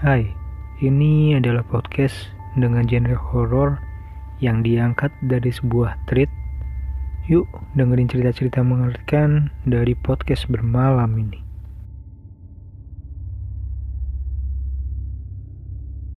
Hai, ini adalah podcast dengan genre horor yang diangkat dari sebuah thread. Yuk dengerin cerita-cerita mengerikan dari podcast bermalam ini.